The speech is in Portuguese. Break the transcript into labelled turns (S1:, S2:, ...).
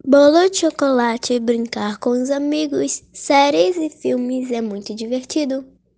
S1: Bolo de chocolate, brincar com os amigos, séries e filmes é muito divertido.